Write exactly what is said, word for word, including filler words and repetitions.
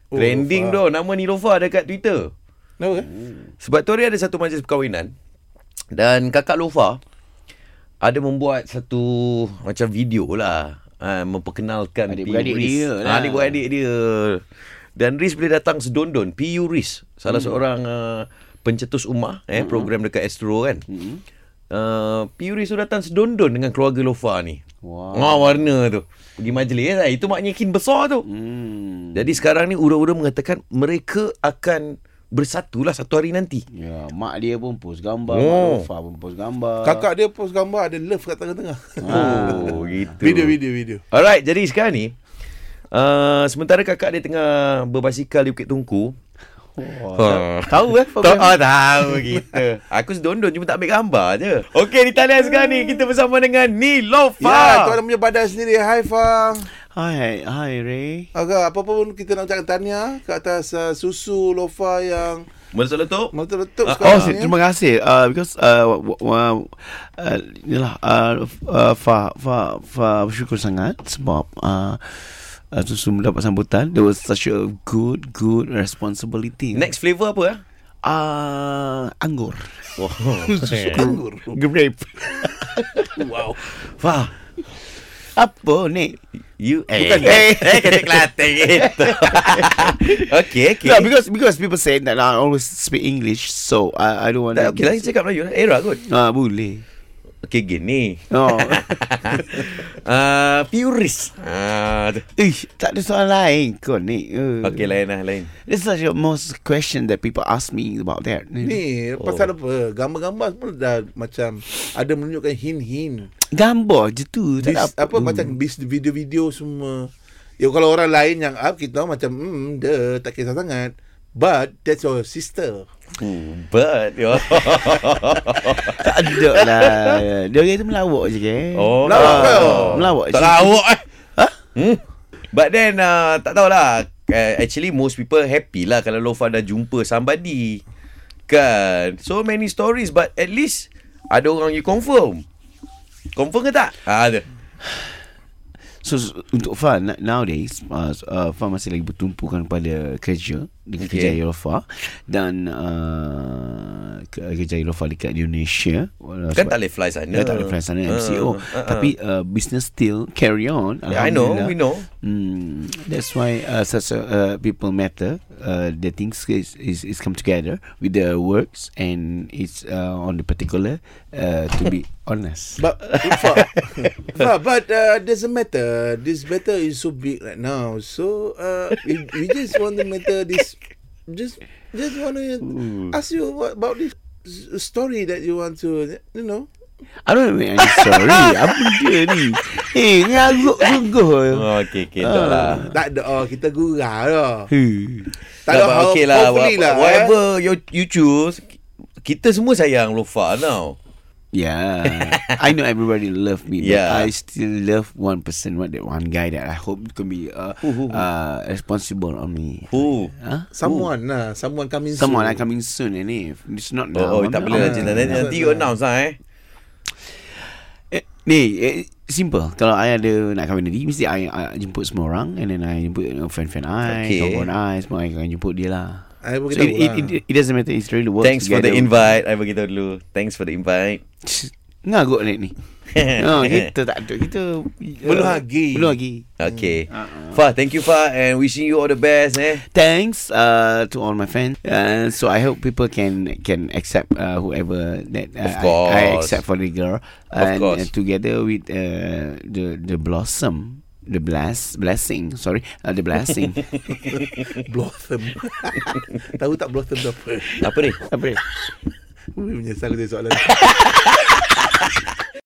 Oh, trending tu nama Niloufar dekat Twitter. Kenapa? Sebab tu hari ada satu majlis perkahwinan dan kakak Loufar ada membuat satu macam video lah, uh, memperkenalkan adik-beradik dia lah. Adik-beradik dia. Dan Riz boleh datang sedondon. P U Riz, salah hmm. seorang uh, pencetus ummah eh hmm. program dekat Astro kan. Hmm. Uh, P U Riz tu datang sedondon dengan keluarga Loufar ni. Wow. Oh, warna tu. Pergi majlis lah. Itu maknanya kin besar tu. Hmm. Jadi sekarang ni ura-ura mengatakan mereka akan bersatulah satu hari nanti. Ya, mak dia pun post gambar, oh. mak Loufar pun post gambar. Kakak dia post gambar ada love kat tengah-tengah. Oh, gitu. Video video video. Alright, jadi sekarang ni uh, sementara kakak dia tengah berbasikal di Bukit Tungku. Oh, ha. Tahu eh program. Oh, tahu gitu. Aku sedondon cuma tak ambil gambar je. Okey, di talian sekarang ni kita bersama dengan Niloufar. Ya, tuan punya badan sendiri. Hai Fang. Hai, hai Ray. Agak apa pun kita nak ucapkan tahniah ke atas uh, susu Loufar yang meletup. Meletup uh, Oh, ni. Terima kasih. Uh, because uh, uh, uh, inilah uh, uh, Fa Fa Fa bersyukur sangat sebab uh, Uh, susu mendapat sambutan. There was such a good Good responsibility. Next flavour apa eh? Uh, anggur. Wow. Anggur. Grape. Wow. Wah. Apa ni? You eh bukan eh eh kata Kelantan gitu. Okay, okay. No, because because people say that I always speak English, so I I don't want. Okay lah, cakap Melayu lah. Era kot. Ah, boleh. Okay, gini. Oh. uh, Puris. Ah, uh, Ish, tak ada soalan lain kau ni. Uh. Okay, lain lah, lain. This is the most question that people ask me about that. Ni, oh. pasal apa? Gambar-gambar semua dah macam ada menunjukkan hint-hint. Gambar je tu. Bis, apa, apa macam bis video-video semua. Ya, kalau orang lain yang up, kita tahu macam, hmm, dia tak kisah sangat. But, that's your sister. Hmm, but yo. Tak ada lah. Dia orang tu melawak je ke? Oh, melawak ke? Oh. Melawak je. Tak lawak eh. Ha? Hmm. But then uh, tak tahulah. Uh, actually most people happy lah kalau Loufar dah jumpa somebody. Kan? So many stories but at least ada orang you confirm. Confirm ke tak? Ha, ada. So untuk Fa nowadays uh, uh, Fa masih lagi bertumpukan pada kerja dengan okay. kerja Loufar dan uh, kerja Loufar dekat Indonesia. Kan tak boleh fly sana. Tak boleh fly sana M C O. Uh, uh, uh. Tapi uh, business still carry on. Yeah, I know, we know. Mm, that's why uh, such a, uh, people matter. Uh, the things is, is is come together with the works and it's uh, on the particular uh, to be honest. But Fa, Fa, but uh, doesn't matter. This matter is so big right now. So uh, we, we just want to matter this. Just just want to ask you what, about this story that you want to, you know. I don't know any story. Apa dia ni? Eh, ngaruk sungguh. Oh, okay, okay. Tak lah. Tak ada. Oh, kita gurau lah. Tak ada. Okay lah. Whatever you, you choose, kita semua sayang Loufar now. Yeah, I know everybody love me, but yeah. I still love one person, what that one guy that I hope can be uh, uh, responsible on me. Who? Huh? Someone lah, someone coming someone soon. Someone coming soon, ini. It's not now. Oh, oh tak boleh lah cinta. Nanti you announce lah eh. eh ni, eh, simple. Kalau I ada nak kahwin nanti, mesti I, I jemput semua orang, and then I jemput you know, friend-friend I, okay. kawan-kawan I, semua I akan jemput dia lah. I so it, it, it, it doesn't matter. It's really work Thanks together. for the invite. I beritahu dulu. Thanks for the invite. Ngaguk ni. No, kita tak ada. Kita belum lagi. Belum lagi. Okay. Uh-uh. Fa, thank you Fa, and wishing you all the best. Eh. Thanks uh, to all my fans. Uh, so I hope people can can accept uh, whoever that uh, of course. I, I accept for the girl. Of and, course. Uh, together with uh, the the blossom. The bless blessing, sorry, uh, the blessing. Blossom. Tahu tak blossom tu apa? Apa ni? Apa ni? Menyesal aku tengok soalan.